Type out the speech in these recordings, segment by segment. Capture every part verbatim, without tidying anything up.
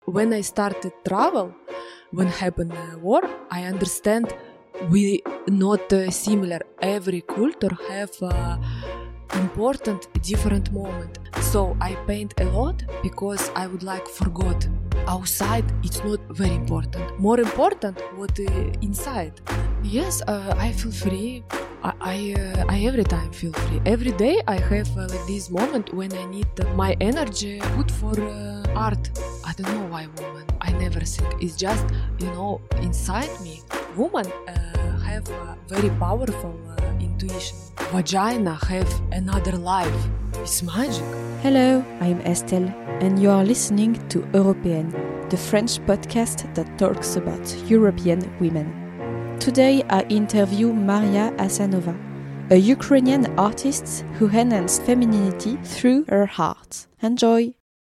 when I started travel, when happened uh, war, I understand we not uh, similar. Every culture have uh, important different moment. So I paint a lot because I would like forgot. Outside it's not very important. More important what uh, inside. Yes, uh, I feel free. I I, uh, I every time feel free. Every day I have uh, like this moment when I need uh, my energy put for uh, art. I don't know why woman. I never think. It's just, you know, inside me. Woman uh, have a very powerful uh, intuition. Vagina have another life. It's magic. Hello, I'm Estelle, and you are listening to Européenne, the French podcast that talks about European women. Today I interview Maria Hasanova, a Ukrainian artist who enhanced femininity through her art. Enjoy!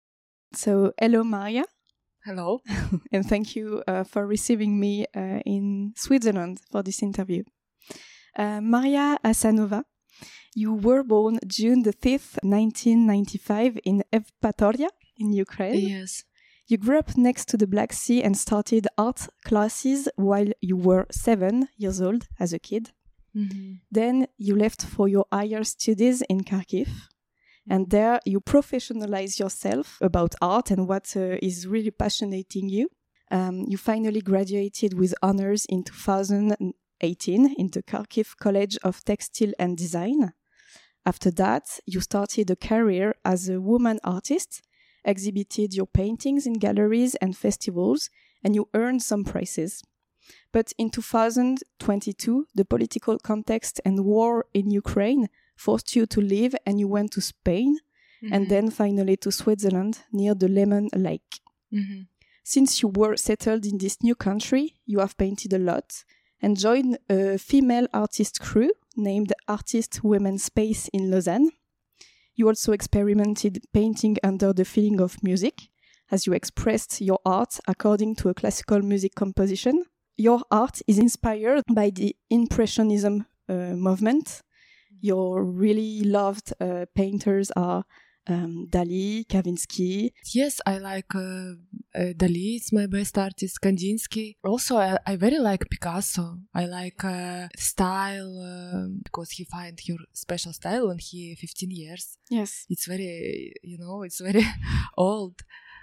So, hello Maria. Hello. And thank you uh, for receiving me uh, in Switzerland for this interview. Uh, Maria Hasanova, you were born June the fifth, nineteen ninety-five in Evpatoria in Ukraine. Yes. You grew up next to the Black Sea and started art classes while you were seven years old as a kid. Mm-hmm. Then you left for your higher studies in Kharkiv. And there you professionalize yourself about art and what uh, is really passionating you. Um, you finally graduated with honors in two thousand eighteen in the Kharkiv College of Textile and Design. After that, you started a career as a woman artist, exhibited your paintings in galleries and festivals, and you earned some prizes. But in two thousand twenty-two, the political context and war in Ukraine forced you to leave, and you went to Spain, mm-hmm. and then finally to Switzerland near the Lemon Lake. Mm-hmm. Since you were settled in this new country, you have painted a lot and joined a female artist crew named Artist Women Space in Lausanne. You also experimented painting under the feeling of music, as you expressed your art according to a classical music composition. Your art is inspired by the Impressionism uh, movement. Your really loved uh, painters are um, Dali, Kandinsky. Yes, I like uh, uh, Dali. It's my best artist. Kandinsky. Also, I, I very like Picasso. I like uh, style uh, because he find your special style when he fifteen years. Yes, it's very, you know, it's very old.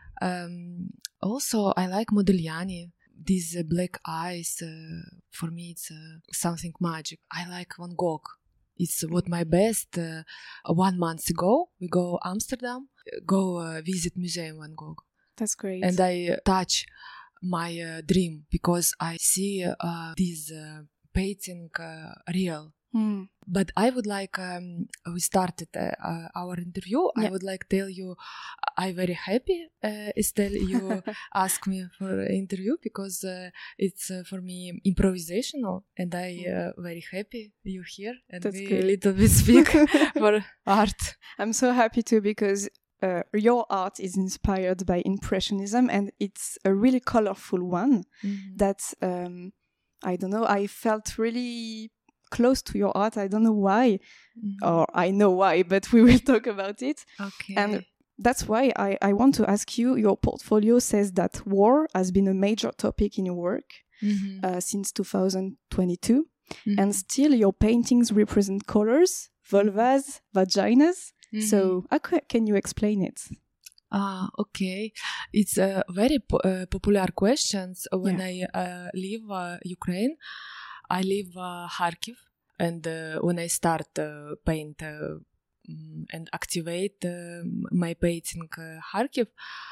Um, also, I like Modigliani. These uh, black eyes. Uh, for me, it's uh, something magic. I like Van Gogh. It's what my best. Uh, one month ago, we go Amsterdam, go uh, visit Museum Van Gogh. That's great. And I uh, touch my uh, dream because I see uh, this uh, painting uh, real. Mm. But I would like, um, we started uh, uh, our interview. Yeah. I would like tell you, I'm very happy, uh, Estelle, you asked me for an interview because uh, it's uh, for me improvisational, and I uh, very happy you here and That's we good. a little bit speak for art. I'm so happy too because uh, your art is inspired by Impressionism, and it's a really colorful one. Mm-hmm. that um, I don't know, I felt really close to your art. I don't know why, mm-hmm. or I know why, but we will talk about it. Okay. And that's why I, I want to ask you, your portfolio says that war has been a major topic in your work mm-hmm. uh, since two thousand twenty-two. Mm-hmm. And still your paintings represent colors, vulvas, vaginas. Mm-hmm. So how ca- can you explain it? Ah, okay. It's a very po- uh, popular question. When yeah. I uh, leave uh, Ukraine, I leave uh, Kharkiv, and uh, when I start uh, paint uh, and activate uh, my painting uh, Kharkiv,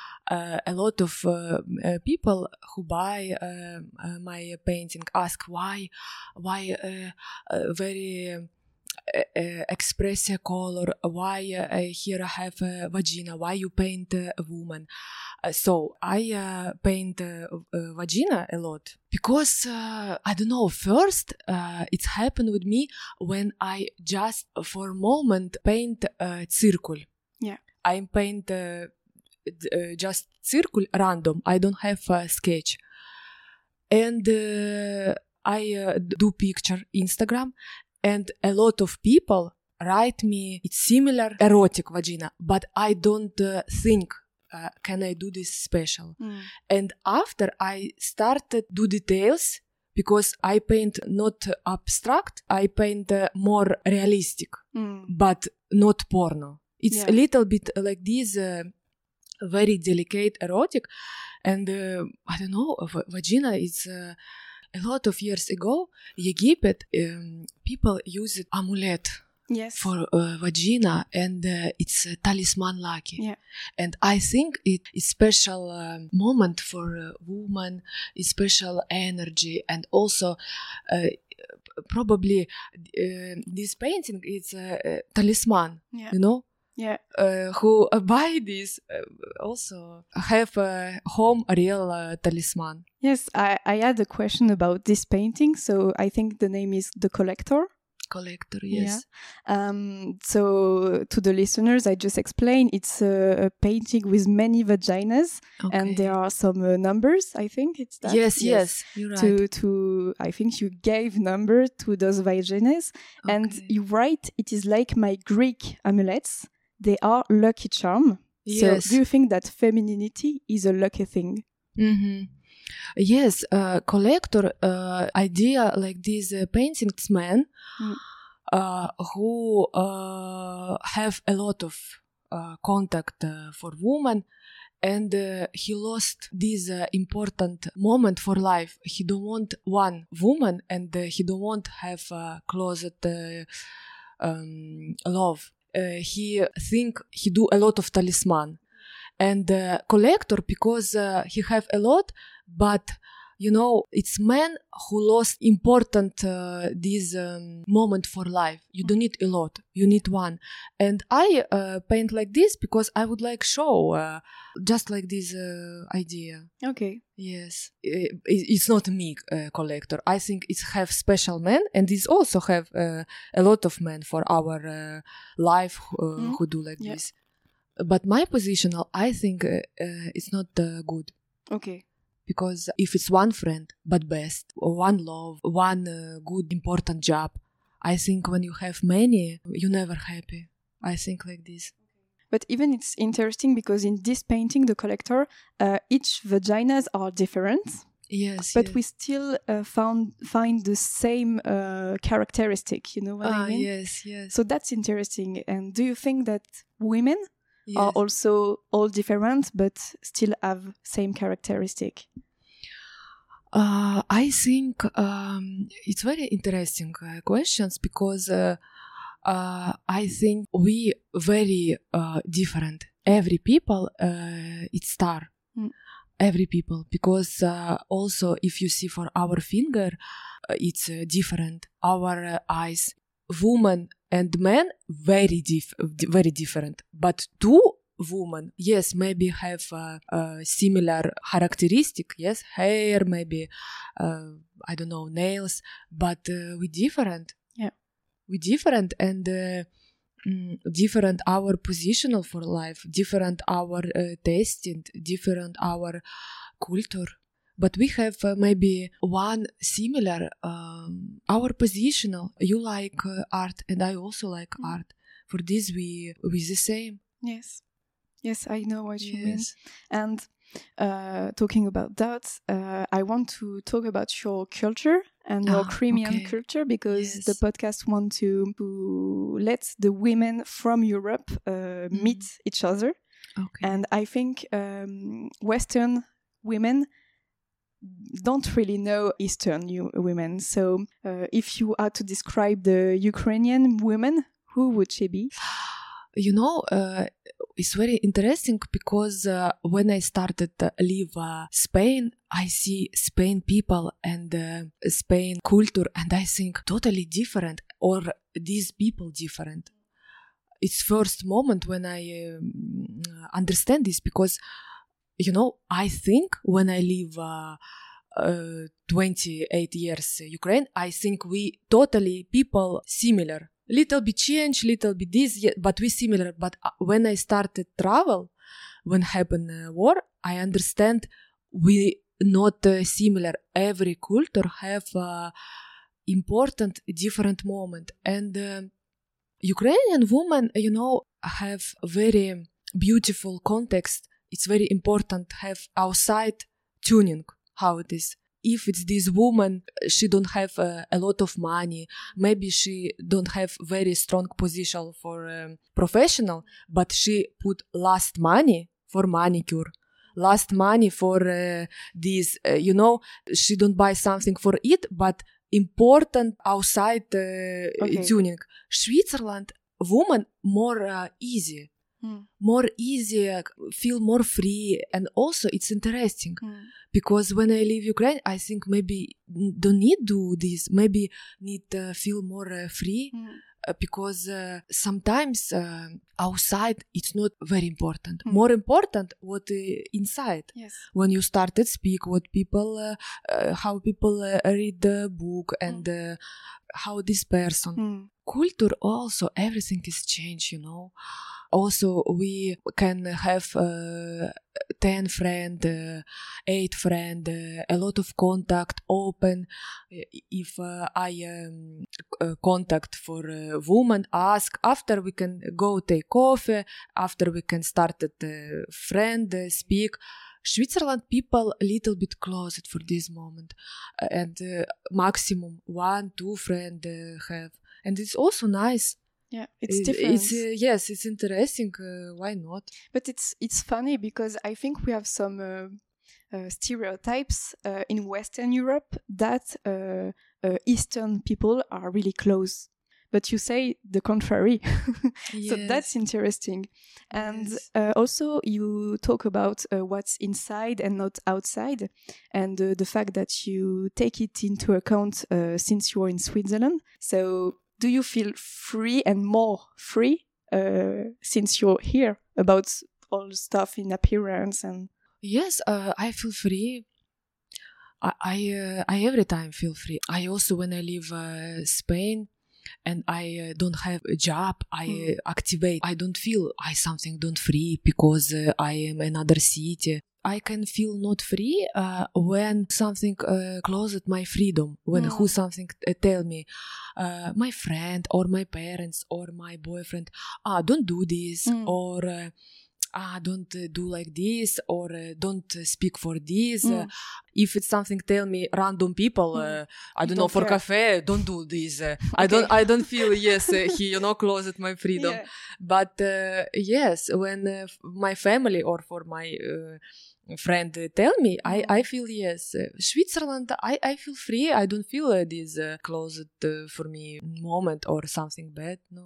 uh, a lot of uh, uh, people who buy uh, uh, my painting ask why, why uh, uh, very uh, uh, express a color, why uh, here I have a vagina, why you paint uh, a woman. Uh, so I uh, paint uh, uh, vagina a lot because uh, I don't know. First, uh, it happened with me when I just for a moment paint a circle. Yeah, I paint uh, uh, just circle random. I don't have a sketch, and uh, I uh, do picture Instagram, and a lot of people write me it's similar erotic vagina, but I don't uh, think uh, can I do this special? Mm. And after I started do details, because I paint not abstract, I paint uh, more realistic, Mm. but not porno. It's Yeah. a little bit like this, uh, very delicate, erotic, and uh, I don't know, v- vagina is uh, a lot of years ago, Egypt, um, people used amulet Yes. for uh, vagina, and uh, it's a talisman lucky. Yeah. And I think it is special um, moment for a woman, is special energy, and also uh, probably uh, this painting is a, a talisman, Yeah. you know. Yeah. Uh, who uh, buy this uh, also have a home real uh, talisman. Yes, I, I had a question about this painting. So I think the name is The Collector. Collector, yes. Yeah. Um, so to the listeners, I just explained it's a, a painting with many vaginas, Okay. and there are some uh, numbers. I think it's that. Yes, yes, you're right. To to I think you gave number to those vaginas, and Okay. you write it is like my Greek amulets. They are lucky charm. Yes. So do you think that femininity is a lucky thing? Mm-hmm. Yes, uh, collector uh, idea like these uh, paintings men Mm. uh, who uh, have a lot of uh, contact uh, for women, and uh, he lost this uh, important moment for life. He don't want one woman, and uh, he don't want have a closet uh, um, love. Uh, he think he do a lot of talisman, and uh, collector because uh, he have a lot, but you know it's man who lost important uh, this um, moment for life. You don't need a lot, you need one. And I uh, paint like this because I would like show uh, just like this uh, idea. Okay. Yes, it, it's not me uh, collector. I think it's have special men, and it's also have uh, a lot of men for our uh, life uh, Mm. who do like Yeah. this. But my position, I think, uh, uh, it's not uh, good, Okay. because if it's one friend, but best, or one love, one uh, good important job, I think when you have many, you're never happy. I think like this. But even it's interesting because in this painting, The Collector, uh, each vaginas are different, Yes, but yes. we still uh, found find the same uh, characteristic. You know what ah, I mean? yes, yes, So that's interesting. And do you think that women yes. are also all different, but still have same characteristic? Uh, I think um, it's very interesting uh, questions because uh, uh, I think we very uh, different. Every people, uh, it's star. Mm. Every people, because uh, also if you see for our finger, uh, it's uh, different. Our uh, eyes, woman and man, very diff- very different. But two women, yes, maybe have uh, uh, similar characteristic, yes, hair, maybe, uh, I don't know, nails, but uh, we different. Yeah. We different, and uh, mm, different our positional for life, different our uh, tasting, different our culture. But we have uh, maybe one similar, um, our positional. You like uh, art, and I also like Mm. art. For this, we we the same. Yes. Yes, I know what you mean. Yes. And uh, talking about that, uh, I want to talk about your culture and your Ah, Crimean okay. culture because Yes. the podcast want to, to let the women from Europe uh, Mm. meet each other. Okay. And I think um, Western women don't really know Eastern u- women. So uh, if you are to describe the Ukrainian women, who would she be? You know, uh, it's very interesting because uh, when I started to live uh, Spain, I see Spain people and uh, Spain culture, and I think totally different, or these people different. It's first moment when I um, understand this because, you know, I think when I live uh, uh, twenty-eight years Ukraine, I think we totally people similar. Little bit change, little bit this, yeah, but we similar. But uh, when I started travel, when happened uh, war, I understand we not uh, similar. Every culture have uh, important different moment, and uh, Ukrainian women, you know, have very beautiful context it's very important to have outside tuning how it is. If it's this woman, she don't have uh, a lot of money, maybe she don't have very strong position for um, professional, but she put last money for manicure, last money for uh, this, uh, you know, she don't buy something for it, but important outside uh, okay. tuning. Switzerland, woman more uh, easy. Mm. More easy, feel more free, and also it's interesting mm. because when I leave Ukraine, I think maybe don't need do this, maybe need uh, feel more uh, free mm. uh, because uh, sometimes uh, outside it's not very important. Mm. More important what uh, inside. Yes. When you started speak, what people, uh, uh, how people uh, read the book and mm. uh, how this person. Mm. Culture also, everything is changed, you know. Also, we can have uh, ten friend, uh, eight friend, uh, a lot of contact, open. If uh, I um, uh, contact for a woman, ask, after we can go take coffee, after we can start at uh, friend, uh, speak. Switzerland people a little bit closet for this moment. Uh, and uh, maximum one, two friend uh, have. And it's also nice. Yeah, it's different. It's, uh, yes, it's interesting. Uh, why not? But it's it's funny because I think we have some uh, uh, stereotypes uh, in Western Europe that uh, uh, Eastern people are really close. But you say the contrary. Yes. So that's interesting. And yes. uh, also you talk about uh, what's inside and not outside. And uh, the fact that you take it into account uh, since you're in Switzerland. So do you feel free and more free uh, since you're here about all the stuff in appearance and? Yes, uh, I feel free. I I, uh, I every time feel free. I also when I leave uh, Spain and I uh, don't have a job, I mm. uh, activate. I don't feel I something don't free because uh, I am another city. I can feel not free uh, when something uh, closes my freedom, when mm. who something uh, tell me, uh, my friend or my parents or my boyfriend, ah, don't do this, mm. or uh, ah, don't uh, do like this, or uh, don't uh, speak for this. Mm. Uh, if it's something tell me random people, mm. uh, I don't, don't know, for care. Cafe, don't do this. Uh, okay. I don't, I don't feel, yes, uh, he, you know, closet my freedom. Yeah. But uh, yes, when uh, my family or for my uh, friend uh, tell me, mm. I, I feel yes. Uh, Switzerland, I, I feel free. I don't feel uh, this uh, closet uh, for me moment or something bad. No.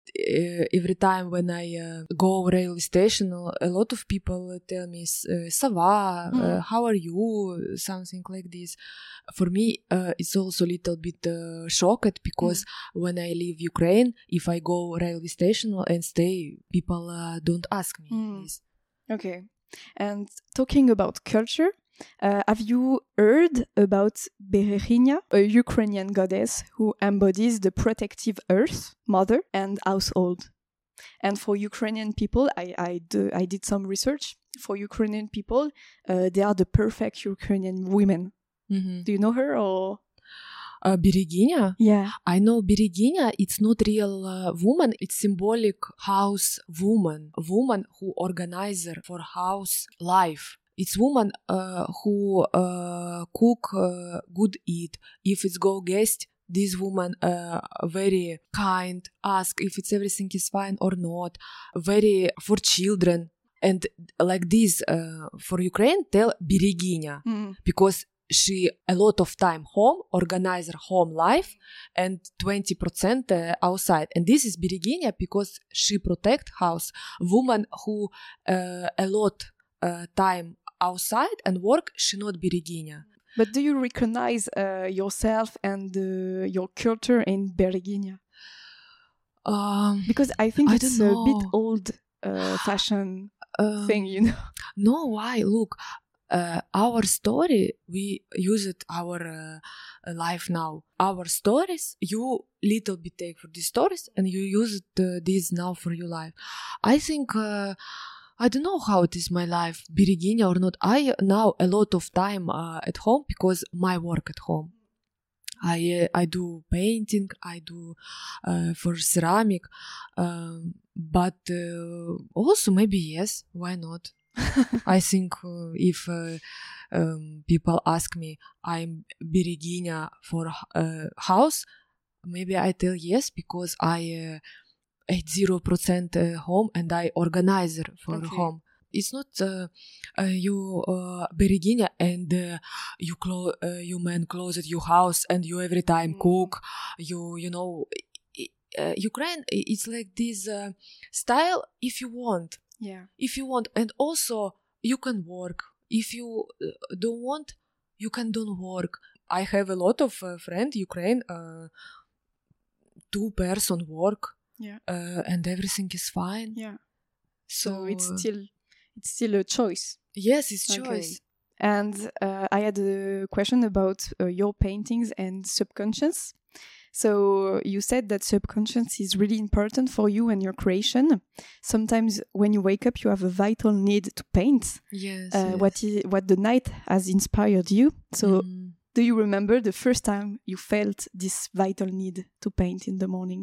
Uh, every time when I uh, go railway station, a lot of people tell me, uh, "Ça va? Mm. Uh, how are you?" Something like this. For me, uh, it's also a little bit uh, shocked because mm. when I leave Ukraine, if I go railway station and stay, people uh, don't ask me mm. this. Okay. And talking about culture, uh, have you heard about Berezhinya, a Ukrainian goddess who embodies the protective earth, mother, and household? And for Ukrainian people, I, I, do, I did some research. For Ukrainian people, uh, they are the perfect Ukrainian women. Mm-hmm. Do you know her or... Uh, Berezhinya? Yeah. I know Berezhinya, it's not real uh, woman, it's symbolic house woman. Woman who organizer for house life. It's woman uh, who uh, cook uh, good eat. If it's go guest, this woman uh, very kind, ask if it's everything is fine or not. Very for children. And like this, uh, for Ukraine, tell Berezhinya. Mm. Because she a lot of time home, organize her home life, and twenty percent uh, outside. And this is Berezhinya because she protect house. Woman who uh, a lot uh, time outside and work, she not Berezhinya. But do you recognize uh, yourself and uh, your culture in Berezhinya? Um, because I think I it's a bit old uh, fashion um, thing, you know. No, why? Look. Uh, our story, we use it our uh, life now. Our stories, you little bit take for these stories and you use it, uh, this now for your life. I think, uh, I don't know how it is my life, Berezhinya or not. I now a lot of time uh, at home because my work at home. I uh, I do painting, I do uh, for ceramic, um, but uh, also maybe yes, why not? I think uh, if uh, um, people ask me, I'm Берегиня for uh, house, maybe I tell yes because I uh, at zero percent uh, home and I organizer for Okay. home. It's not uh, uh, you uh, Берегиня and uh, you clo- uh, you man closet your house and you every time Mm. cook. You you know, uh, Ukraine. It's like this uh, style. If you want, Yeah. if you want, and also you can work. If you uh, don't want, you can don't work. I have a lot of uh, friend Ukraine. Uh, two person work. Yeah. Uh, and everything is fine. Yeah. So, So it's uh, still it's still a choice. yes, it's Okay. choice. And uh, I had a question about uh, your paintings and subconscious. So you said that subconscious is really important for you and your creation. Sometimes when you wake up, you have a vital need to paint. Yes. Uh, yes. What is what the night has inspired you. So Mm. do you remember the first time you felt this vital need to paint in the morning?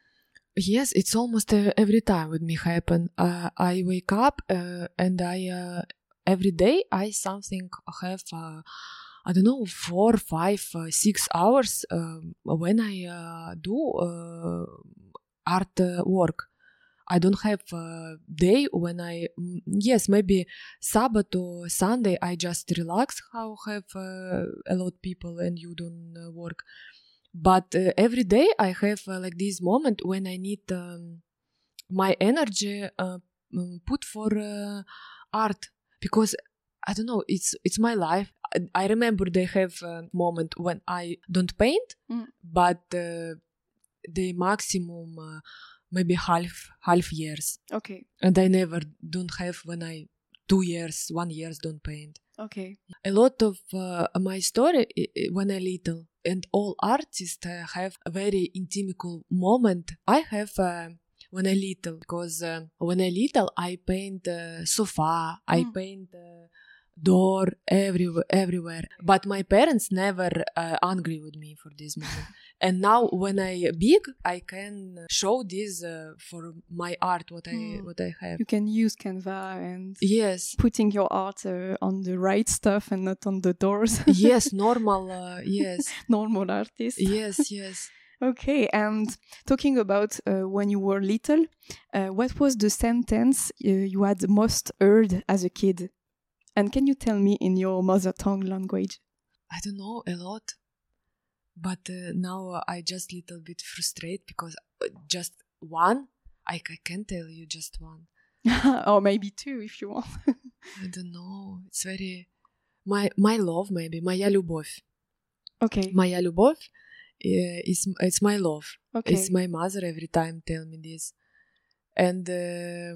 Yes, it's almost uh, every time with me happen. Uh, I wake up uh, and I uh, every day I something have uh, I don't know four, five, uh, six hours um, when I uh, do uh, art uh, work. I don't have a day when I mm, yes maybe Sabbath or Sunday I just relax. How have uh, a lot of people and you don't uh, work. But uh, every day I have uh, like this moment when I need um, my energy uh, um, put for uh, art because I don't know it's it's my life. I, I remember they have a moment when I don't paint, Mm. but uh, the maximum uh, maybe half half years, Okay. and I never don't have when I two years one years don't paint. Okay. A lot of uh, my story i- i- when I little and all artists uh, have a very intimate moment. I have uh, when I little because uh, when I little I paint uh, sofa, I Mm. paint uh, door everywhere, everywhere. But my parents never uh, angry with me for this moment. And now when I big, I can show this uh, for my art what I Mm. what I have. You can use Canva and Yes. putting your art uh, on the right stuff and not on the doors. Yes, normal. Uh, yes. Normal artist. Yes, yes. Okay, and talking about uh, when you were little, uh, what was the sentence uh, you had most heard as a kid? And can you tell me in your mother tongue language? I don't know a lot, but uh, now uh, I just little bit frustrated because uh, just one. I, I can tell you just one. Or maybe two if you want. I don't know. It's very my my love maybe моя любовь. Okay. Моя любовь uh, is it's my love. Okay. It's my mother every time tell me this, and uh,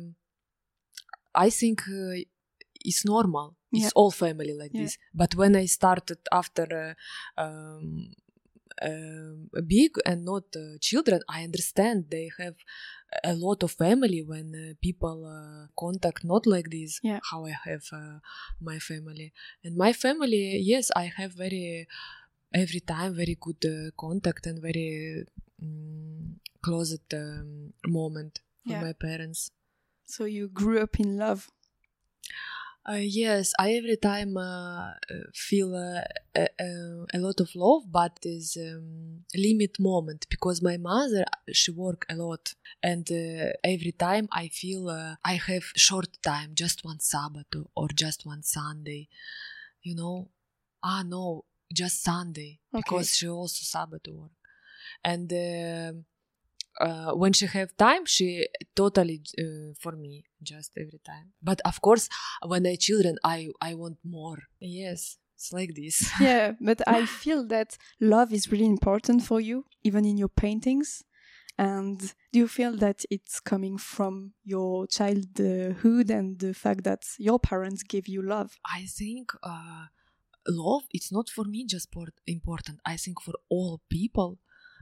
I think uh, it's normal. It's Yeah. all family like Yeah. this. But when I started after uh, um, uh, big and not uh, children, I understand they have a lot of family when uh, people uh, contact not like this. Yeah. How I have uh, my family and my family. Yes, I have very every time very good uh, contact and very um, closet um, moment for Yeah. my parents. So you grew up in love. Uh, yes, I every time uh, uh, feel uh, a, a, a lot of love, but is um, limit moment because my mother she work a lot, and uh, every time I feel uh, I have short time, just one Sabbath or just one Sunday, you know. Ah no, just Sunday Okay. because she also Sabbath work, and. Uh, Uh, when she have time, she totally uh, for me just every time. But of course, when I children, I I want more. Yes, it's like this. Yeah, but I feel that love is really important for you, even in your paintings. And do you feel that it's coming from your childhood and the fact that your parents give you love? I think uh, love it's not for me just for important. I think for all people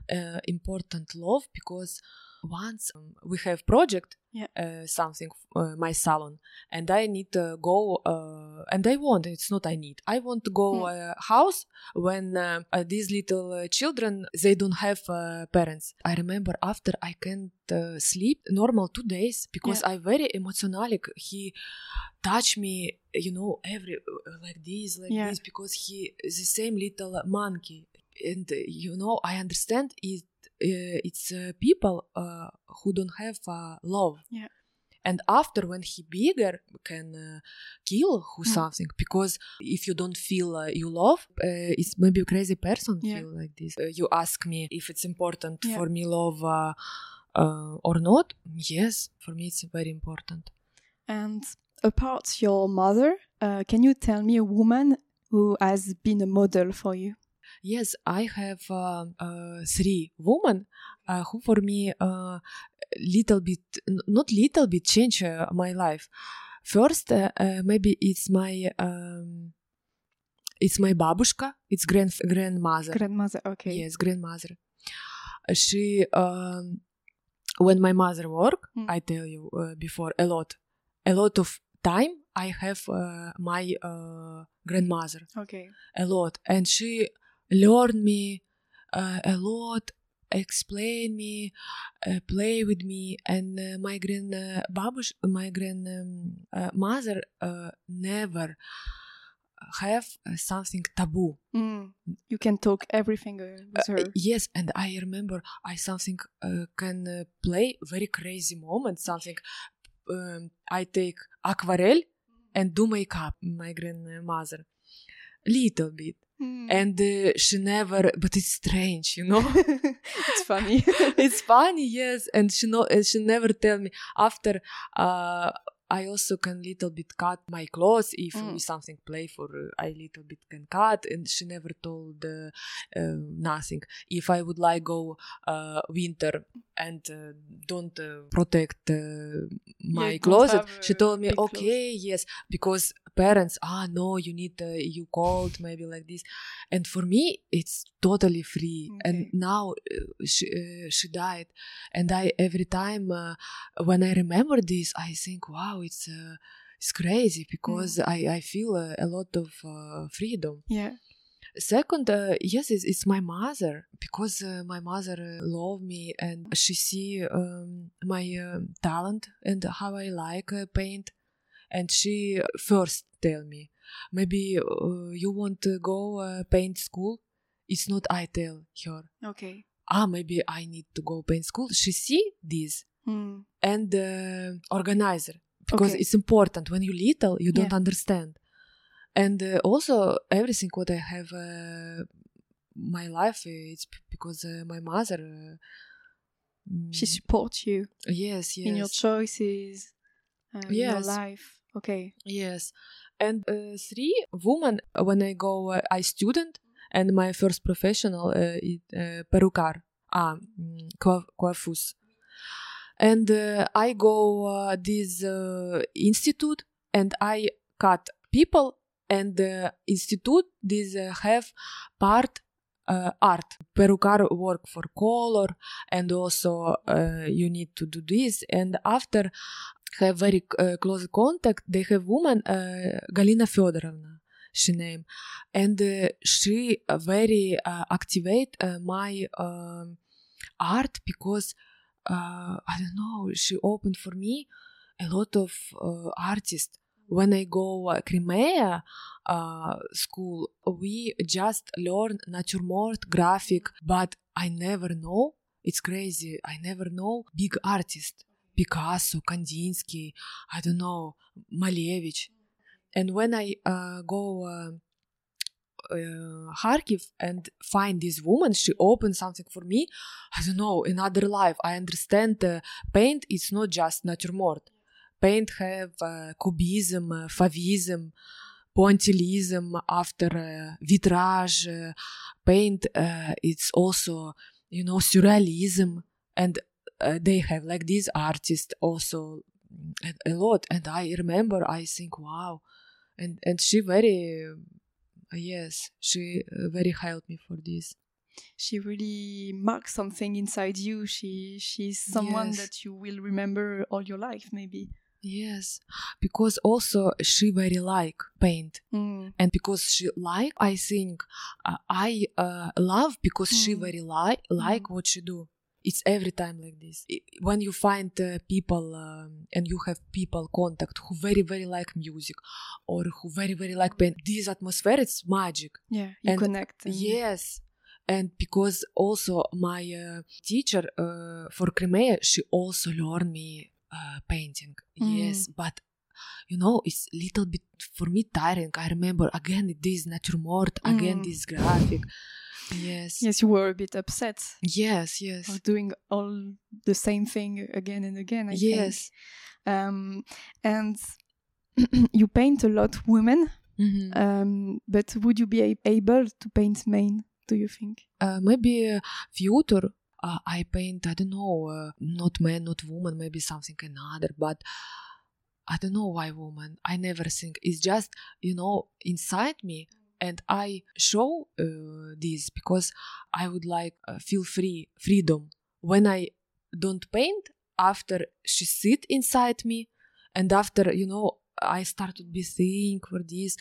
uh, important love because once um, we have project, yeah. uh, something, uh, my salon, and I need to go, uh, and I want, it's not I need, I want to go Mm. uh, house when uh, uh, these little uh, children, they don't have uh, parents. I remember after I can't uh, sleep normal two days because Yeah. I very emotionally, he touch me, you know, every, like this, like Yeah. this, because he is the same little monkey. And, uh, you know, I understand it, uh, it's uh, people uh, who don't have uh, love. Yeah. And after, when he bigger, can uh, kill who Mm. something, because if you don't feel uh, you love, uh, it's maybe a crazy person Yeah. feel like this. Uh, you ask me if it's important Yeah. for me love uh, uh, or not. Yes, for me it's very important. And apart your mother, uh, can you tell me a woman who has been a model for you? Yes, I have uh, uh, three women uh, who for me uh, little bit, n- not little bit, change uh, my life. First, uh, uh, maybe it's my um, it's my babushka, it's grand grandmother. Grandmother, okay. Yes, grandmother. She um, when my mother work, Mm. I tell you uh, before, a lot, a lot of time I have uh, my uh, grandmother. Okay. A lot, and she learned me uh, a lot, explain me, uh, play with me, and uh, my grand uh, babush, my grand um, uh, mother uh, never have uh, something taboo. Mm. You can talk everything uh, with her. Uh, yes, and I remember I something uh, can uh, play very crazy moment. Something um, I take aquarelle and do makeup. My grandmother, little bit. Mm. And uh, she never, but it's strange, you know. It's funny. It's funny, yes. And she no, uh, she never tell me after. Uh, I also can little bit cut my clothes if Mm. we something play for. Uh, I little bit can cut, and she never told uh, uh, nothing. If I would like go uh, winter and uh, don't uh, protect uh, my you don't closet, have, she uh, told me big clothes. okay, yes, because parents, ah no, you need uh, you cold maybe like this, and for me it's totally free. Okay. And now uh, she uh, she died, and I every time uh, when I remember this, I think, wow, it's uh, it's crazy because I I feel uh, a lot of uh, freedom. Yeah. Second, uh, yes, it's, it's my mother, because uh, my mother uh, love me, and she see um, my um talent and how I like uh, paint. And she first tell me, maybe uh, you want to go uh, paint school. It's not I tell her. Okay. Ah, maybe I need to go paint school. She see this Mm. and uh, organizer, because Okay. it's important. When you little, you don't Yeah. understand. And uh, also everything what I have uh, my life, it's p- because uh, my mother. Uh, She mm, supports you yes, yes, in your choices, uh, in your yes. life. Okay. Yes, and uh, three women uh, when I go, uh, I student, and my first professional uh, is uh, perukar, ah, mm, coif- coiffeuse, and uh, I go uh, this uh, institute, and I cut people, and the institute this uh, have part uh, art. Perukar work for color, and also uh, you need to do this, and after have very uh, close contact. They have woman uh, Galina Fedorovna, she name, and uh, she uh, very uh, activate uh, my um art, because uh, I don't know. She opened for me a lot of uh, artists. When I go uh, Crimea uh, school, we just learn naturemort, graphic, but I never know. It's crazy. I never know big artist. Picasso, Kandinsky, I don't know, Malevich. And when I uh, go uh, uh, Kharkiv and find this woman, she opened something for me. I don't know, another life. I understand uh, paint is not just naturemort. Paint have uh, cubism, uh, Fauvism, pointillism, after uh, vitrage. Uh, paint, uh, it's also, you know, surrealism. And uh, they have like these artists also a, a lot. And I remember, I think, wow. And, and she very... Yes, she uh, very helped me for this. she really marks something inside you. She she's someone Yes. that you will remember all your life, maybe. Yes, because also she very like paint, Mm. and because she like, I think uh, I uh, love because she Mm. very like like Mm. what she do. It's every time like this. I- When you find uh, people um, and you have people contact who very very like music or who very very like paint, this atmosphere, it's magic. Yeah, you And connect. And Yes, and because also my uh, teacher uh, for Crimea, she also learned me uh, painting. Mm. Yes, but you know, it's little bit for me tiring. I remember again this naturemort, again Mm. this graphic. Yes, Yes, you were a bit upset yes, yes, of doing all the same thing again and again. I yes. think. Um, and you paint a lot women. Mhm. Um, but would you be a- able to paint men? Do you think? Uh, maybe uh, future. Uh, I paint. I don't know. Uh, not man, not woman. Maybe something another. But I don't know why woman. I never think. It's just, you know, inside me, and I show uh, this because I would like uh, feel free, freedom. When I don't paint, after she sit inside me, and after, you know, I start to be think for this.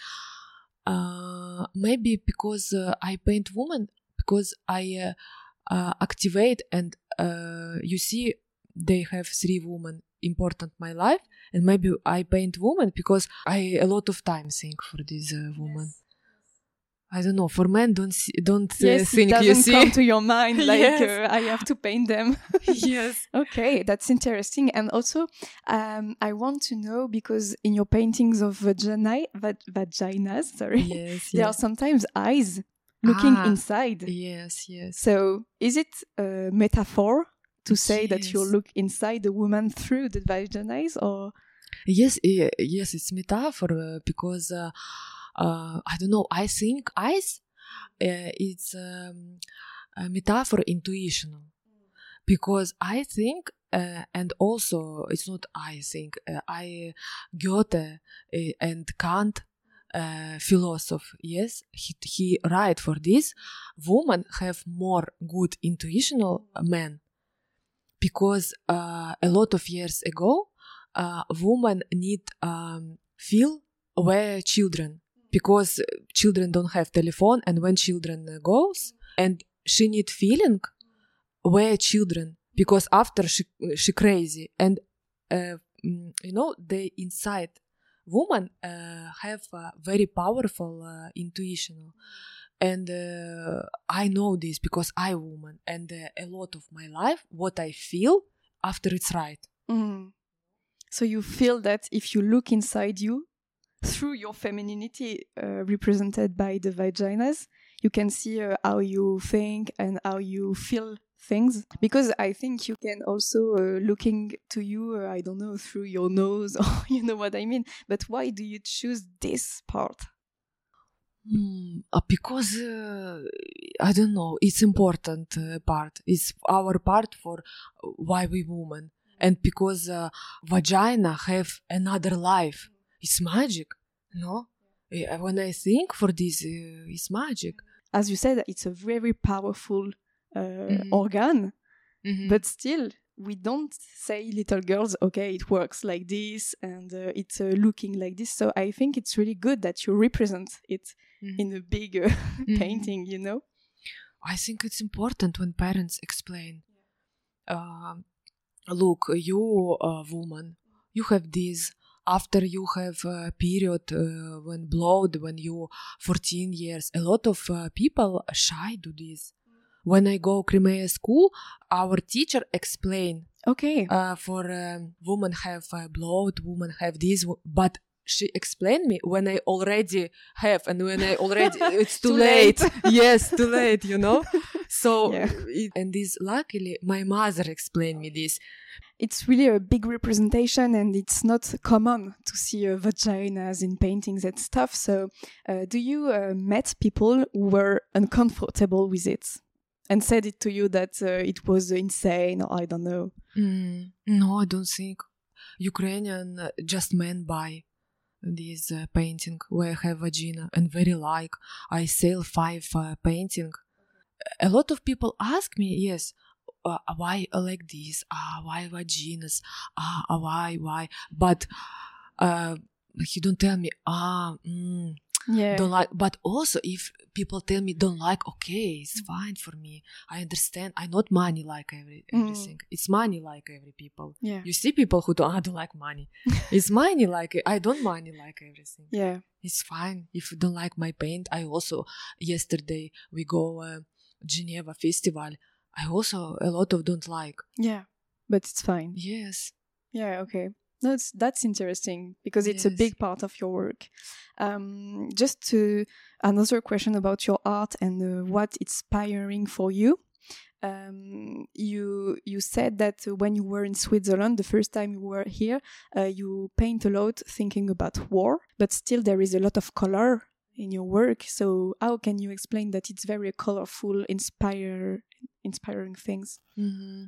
Uh, maybe because uh, I paint woman, because I uh, uh, activate, and uh, you see, they have three women important my life, and maybe I paint woman because I a lot of time think for this uh, woman. Yes. I don't know. For men, don't see, don't uh, Yes, it think. You doesn't see? come to your mind like Yes. uh, I have to paint them. Yes. Okay, that's interesting. And also, um, I want to know because in your paintings of vagina, va- vaginas, sorry, Yes. there Yes. are sometimes eyes looking Ah, inside. Yes. Yes. So, is it a metaphor to say that you Yes. look inside the woman through the vaginas, or? Yes, eh, yes, it's metaphor uh, because uh, uh, I don't know. I think eyes, uh, it's um, a metaphor intuitional because I think, uh, and also it's not I think. Uh, I Goethe uh, and Kant, uh, philosopher. Yes, he he write for this. Women have more good intuitional men because uh, a lot of years ago. Uh, women need um, feel where children because children don't have telephone, and when children uh, goes, and she need feeling where children because after she she crazy, and uh, mm, you know, they inside woman uh, have a very powerful uh, intuition, and uh, I know this because I woman, and uh, a lot of my life what I feel after it's right. Mm. So you feel that if you look inside you, through your femininity uh, represented by the vaginas, you can see uh, how you think and how you feel things. Because I think you can also uh, looking to you, uh, I don't know, through your nose, or you know what I mean. But why do you choose this part? Hmm, uh, because uh, I don't know, it's important uh, part. It's our part for uh, why we women, and because uh, vagina have another life. It's magic, no? Uh, When I think for this, uh, it's magic. As you said, it's a very powerful uh, Mhm. organ, Mhm. but still we don't say little girls, okay, it works like this and uh, it's uh, looking like this. So I think it's really good that you represent it Mhm. in a big uh, Mhm. painting, you know. I think it's important when parents explain. Um, look, you a woman, you have this. After you have a period uh, when blood, when you fourteen years, a lot of uh, people shy do this. When I go Crimea school, our teacher explain Okay. uh, for um, women have uh, blood, women have this, wo- but she explained me when I already have, and when I already it's too, Too late. late. Yes, too late, you know. So Yeah. it, and this luckily my mother explained me this. It's really a big representation and it's not common to see uh, vaginas in paintings and stuff. So uh, do you uh, met people who were uncomfortable with it and said it to you that uh, it was insane, or I don't know? Mm, no, I don't think Ukrainian uh, just men buy this uh, painting where I have vagina and very like. I sell five uh, painting a lot of people ask me, yes, uh, why like this? Ah, why vaginas? Ah, why, why? But uh, he don't tell me, ah, mm, Yeah. don't like. But also, if people tell me don't like, okay, it's fine for me. I understand. I not money like every everything. Mm. It's money like every people. Yeah. You see people who don't, I don't like money. It's money like I don't money like everything. Yeah. It's fine. If you don't like my paint, I also yesterday we go uh, Geneva festival. I also a lot of don't like. Yeah, but it's fine. Yes. Yeah. Okay. No, it's, that's interesting because it's yes. a big part of your work. Um, just to another question about your art and uh, what inspiring for you. Um, you you said that when you were in Switzerland, the first time you were here, uh, you paint a lot thinking about war, but still there is a lot of color in your work. So how can you explain that it's very colorful, inspire, inspiring things? Mm-hmm.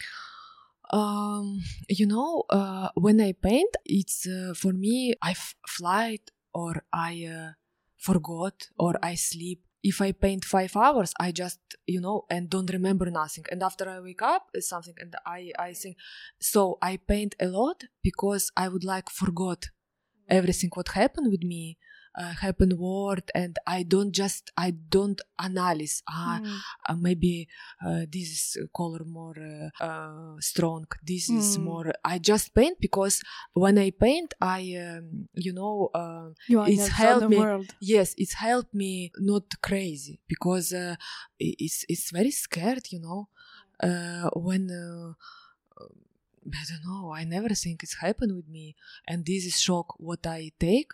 Um, you know, uh, when I paint, it's uh, for me, I f- fly or I uh, forgot or I sleep. If I paint five hours, I just, you know, and don't remember nothing. And after I wake up, it's something, and I, I think, so I paint a lot because I would like forgot everything what happened with me. Uh, happen word, and I don't just I don't analyze. Ah, mm. uh, maybe uh, this is color more uh, uh, strong. This mm. is more. I just paint because when I paint, I um, you know uh, you are it's helped me. World. Yes, it's helped me not crazy because uh, it's it's very scared. You know, uh, when. Uh, I don't know. I never think it's happened with me, and this is shock what I take.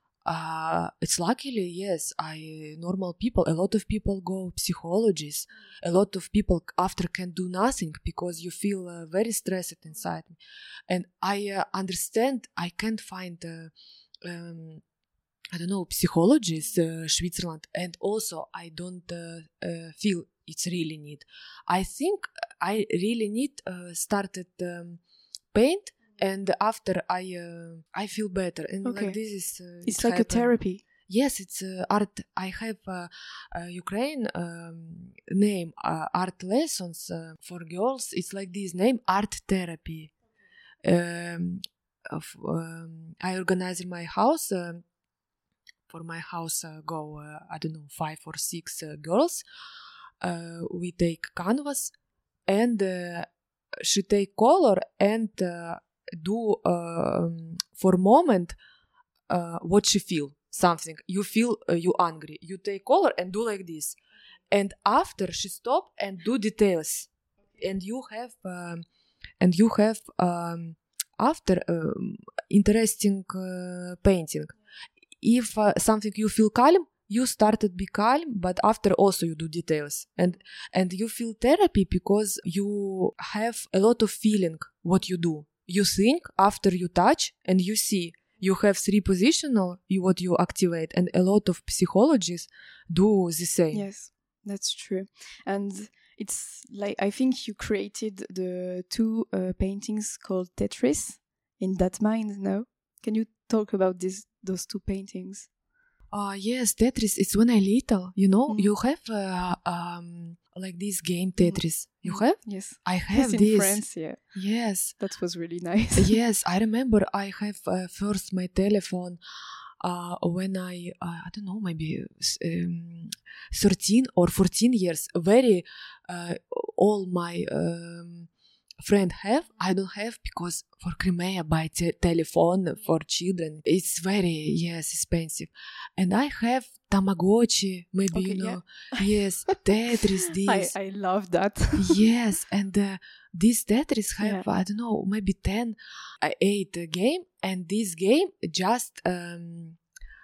Uh, it's luckily, yes, I, normal people, a lot of people go psychologists, a lot of people after can do nothing because you feel uh, very stressed inside me. And I uh, understand I can't find, uh, um, I don't know, psychologists, uh, Switzerland, and also I don't uh, uh, feel it's really need. I think I really need uh, started um, paint. And after I uh, I feel better, and okay. like this is uh, it's like happened. A therapy. Yes, it's uh, art. I have uh, uh, Ukraine um, name uh, art lessons uh, for girls. It's like this name art therapy. Um, of, um, I organize in my house. Uh, for my house uh, go uh, I don't know five or six uh, girls. Uh, we take canvas and uh, she take color and. Uh, do uh, for a moment uh, what she feel something you feel uh, you angry you take color and do like this and after she stop and do details and you have um, and you have um, after um, interesting uh, painting if uh, something you feel calm you started be calm but after also you do details and and you feel therapy because you have a lot of feeling what you do. You think after you touch and you see you have three positional you what you activate and a lot of psychologists do the same. Yes, that's true. And it's like I think you created the two uh, paintings called Tetris in that mind. No, can you talk about this those two paintings? Uh, yes, Tetris, it's when I little, you know, mm. you have uh, um, like this game Tetris. Mm. You have? Yes. I have yes, this. In France, yeah. Yes. That was really nice. Yes, I remember I have uh, first my telephone uh, when I, uh, I don't know, maybe um, thirteen or fourteen years. Very, uh, all my... Um, friend have I don't have because for Crimea buy te- telephone for children it's very yes expensive and I have Tamagotchi maybe okay, you know yeah. Yes Tetris this I, I love that yes and uh, this Tetris have yeah. I don't know maybe ten uh, eight uh, game and this game just um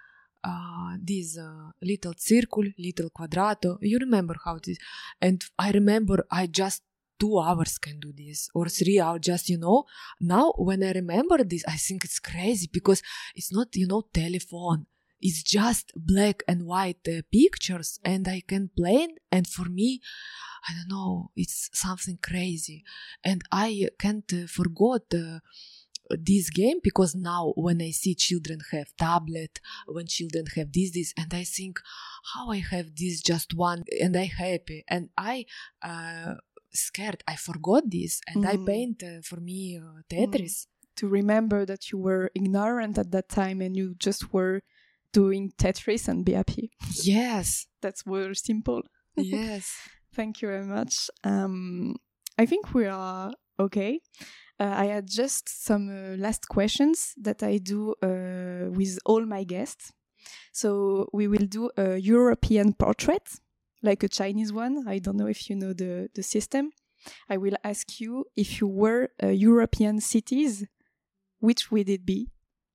uh this uh, little circle little quadrato you remember how it is and I remember I just two hours can do this or three hours just you know now when I remember this I think it's crazy because it's not you know telephone it's just black and white uh, pictures and I can play and for me I don't know it's something crazy and I can't uh, forget uh, this game because now when I see children have tablet when children have this this and I think how I have this just one and I happy and I uh, scared. I forgot this and mm. I paint uh, for me uh, Tetris. Mm. To remember that you were ignorant at that time and you just were doing Tetris and be happy. Yes. That's very simple. Yes. Thank you very much. Um, I think we are okay. Uh, I had just some uh, last questions that I do uh, with all my guests. So we will do a European portrait, like a Chinese one. I don't know if you know the, the system. I will ask you if you were uh, European cities, which would it be?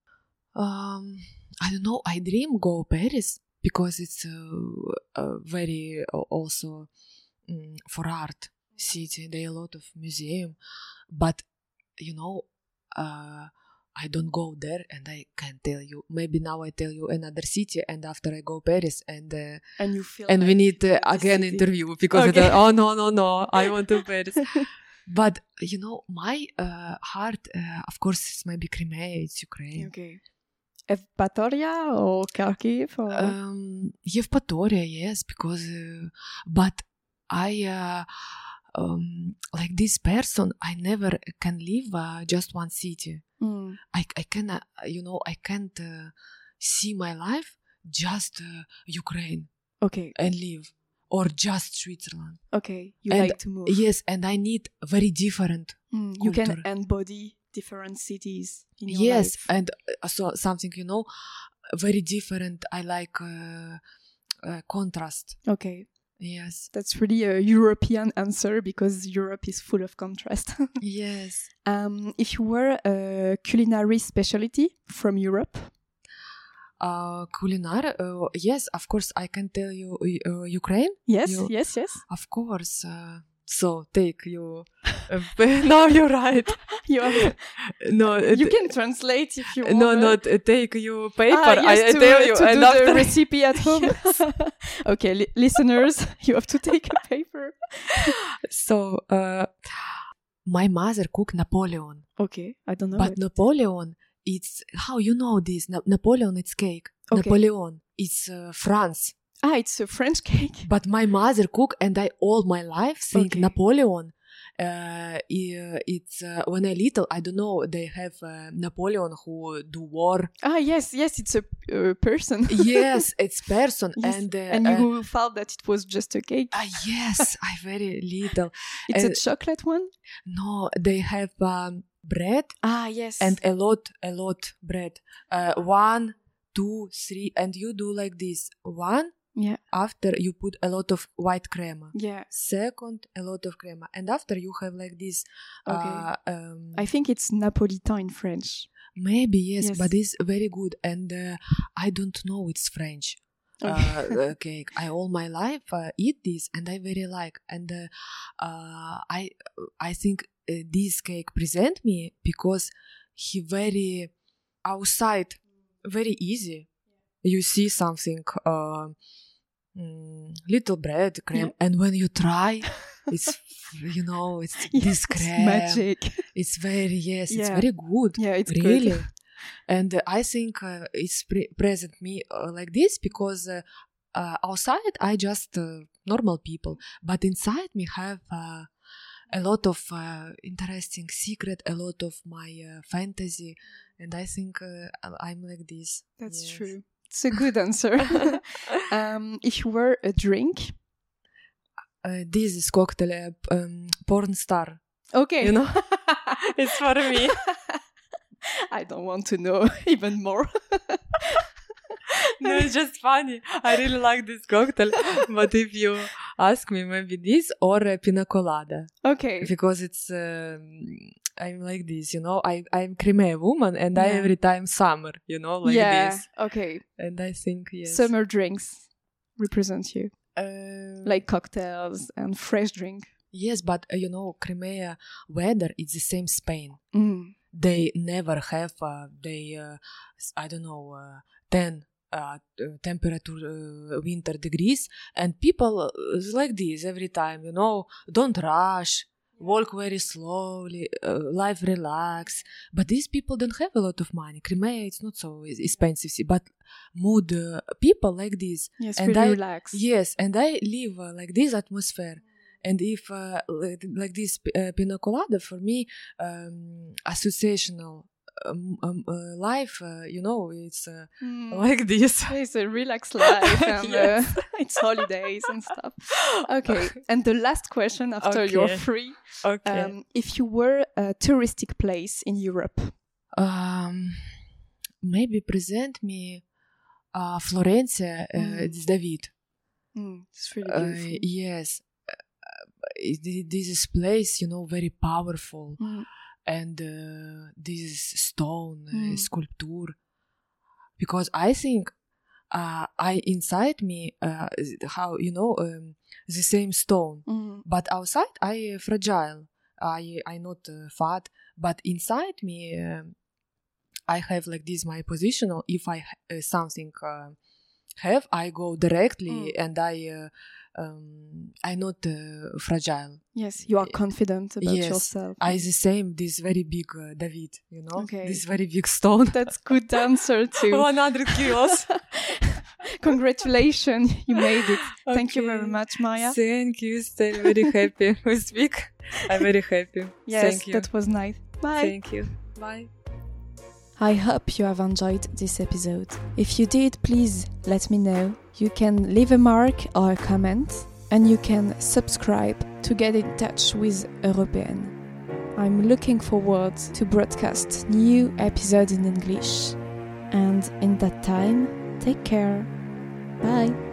Um, I don't know. I dream go Paris because it's a, a very uh, also um, for art city. There are a lot of museum, but you know, uh, I don't go there, and I can't tell you. Maybe now I tell you another city, and after I go Paris, and uh, and you feel and like we need uh, again city. interview because Okay. I thought, oh no no no, I want to Paris. But you know, my uh, heart, uh, of course, it's maybe Crimea, it's Ukraine. Okay. Evpatoria or Kharkiv? Or? Um, Evpatoria, yes, because, uh, but I, uh, um, like this person, I never can live uh, just one city. Mm. I, I can, uh, you know, I can't uh, see my life just uh, Ukraine. Okay. And live. Or just Switzerland. Okay, you and like to move. Yes, and I need very different mm, You can embody different cities in your yes, life. and uh, so something, you know, very different. I like uh, uh, contrast. Okay. Yes. That's really a European answer because Europe is full of contrast. Yes. Um, if you were a culinary specialty from Europe? Uh, culinar, uh, yes, of course, I can tell you uh, Ukraine. Yes, you, yes, yes. Of course. Uh, so take you. Uh, now you're right. you have, no, you can translate if you want. No, not uh, take you paper. Ah, yes, I, I to, tell you, to and do after the recipe at home. Yes. Okay, li- listeners, you have to take a paper. So, uh, my mother cooked Napoleon. Okay, I don't know. But it. Napoleon. It's how you know this Na- Napoleon. It's cake. Okay. Napoleon. It's uh, France. Ah, it's a French cake. But my mother cook, and I all my life think Okay. Napoleon. Uh, it's uh, when I little, I don't know. They have uh, Napoleon who do war. Ah, yes, yes, it's a uh, person. Yes, it's person, yes. and uh, and you uh, thought that it was just a cake. Ah, uh, yes, I very little. It's and, a chocolate one. No, they have um, bread. Ah, yes, and a lot, a lot bread. Uh, one, two, three, and you do like this. One. Yeah. After you put a lot of white crema. Yeah. Second, a lot of crema. And after you have like this. Okay. Uh, um, I think it's Napolitain in French. Maybe, yes, yes. but it's very good. And uh, I don't know it's French okay. uh, cake. I all my life uh, eat this and I very like. And uh, uh, I, I think uh, this cake present me because he very outside, very easy. You see something, uh, mm, little bread, cream, yeah. And when you try, it's, you know, it's yes, this cream. Magic. It's very, yes, yeah. it's very good. Yeah, it's really. Good. And uh, I think uh, it's pre- present me uh, like this because uh, uh, outside I just uh, normal people, but inside me have uh, a lot of uh, interesting secret, a lot of my uh, fantasy, and I think uh, I'm like this. That's yes. true. It's a good answer. um, if you were a drink, uh, this is cocktail uh, um, porn star. Okay, you know, it's for me. I don't want to know even more. No, it's just funny. I really like this cocktail, but if you ask me, maybe this or a pina colada. Okay, because it's. Um, I'm like this, you know, I, I'm Crimea woman and yeah. I every time summer, you know, like yeah, this. Okay. And I think, yes. Summer drinks represent you. Uh, like cocktails and fresh drink. Yes, but, uh, you know, Crimea weather, it's the same Spain. Mm. They never have, uh, they, uh, I don't know, uh, ten uh, temperature uh, winter degrees. And people uh, like this every time, you know, don't rush. walk very slowly, uh, life relax. But these people don't have a lot of money. Crimea, it's not so expensive, but mood uh, people like this. Yes, and really I, relax. Yes, and I live uh, like this atmosphere. And if uh, like, like this uh, pina colada for me, um, associational um, um, uh, life, uh, you know, it's uh, mm. like this. It's a relaxed life, and yes. uh, it's holidays and stuff. Okay, and the last question after okay. you're free. Okay. Um, if you were a touristic place in Europe, um, maybe present me uh, Florence, uh, mm. it's David. Mm, it's really beautiful. Uh, yes. This is place, you know, very powerful, mm. and uh, this stone mm. uh, sculpture, because I think uh, I inside me uh, how you know um, the same stone, mm. but outside I uh, fragile. I I not uh, fat, but inside me uh, I have like this my positional. If I uh, something uh, have, I go directly mm. and I. Uh, Um, I'm not uh, fragile. Yes, you are confident about yes, yourself. I the same, this very big uh, David, you know, okay. this very big stone. That's good answer too. one hundred kilos. Congratulations, you made it. Okay. Thank you very much, Maya. Thank you, stay very happy we speak. I'm very happy. Yes, Thank you. That was nice. Bye. Thank you. Bye. I hope you have enjoyed this episode. If you did, please let me know. You can leave a mark or a comment, and you can subscribe to get in touch with European. I'm looking forward to broadcast new episodes in English. And in that time, take care. Bye.